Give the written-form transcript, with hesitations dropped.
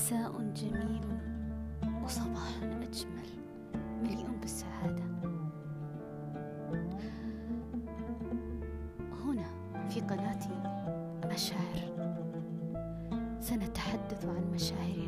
مساء جميل وصباح أجمل مليء بالسعادة. هنا في قناتي مشاعر سنتحدث عن مشاعر